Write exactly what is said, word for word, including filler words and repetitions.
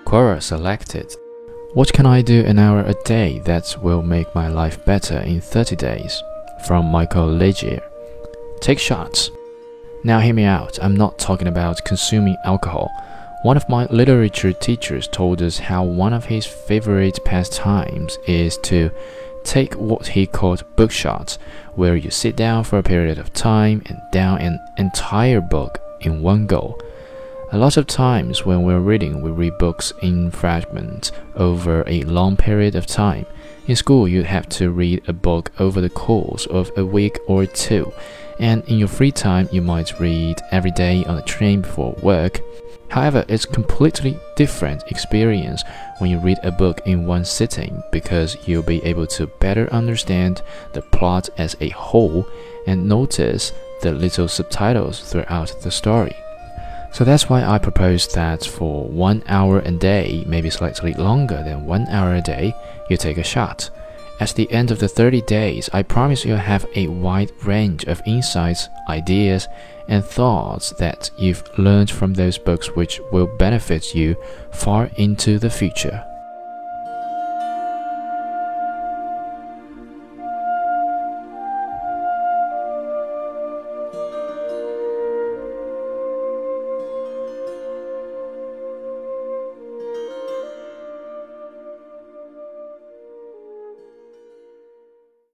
Quora selected. What can I do an hour a day that will make my life better in thirty days? From Michael Legier. Take shots. Now hear me out, I'm not talking about consuming alcohol. One of my literature teachers told us how one of his favorite pastimes is to take what he called book shots, where you sit down for a period of time and down an entire book in one go. A lot of times when we're reading, we read books in fragments over a long period of time. In school, you have to read a book over the course of a week or two, and in your free time, you might read every day on the train before work. However, it's a completely different experience when you read a book in one sitting, because you'll be able to better understand the plot as a whole and notice the little subtitles throughout the story. So that's why I propose that for one hour a day, maybe slightly longer than one hour a day, you take a shot. At the end of the thirty days, I promise you'll have a wide range of insights, ideas, and thoughts that you've learned from those books which will benefit you far into the future.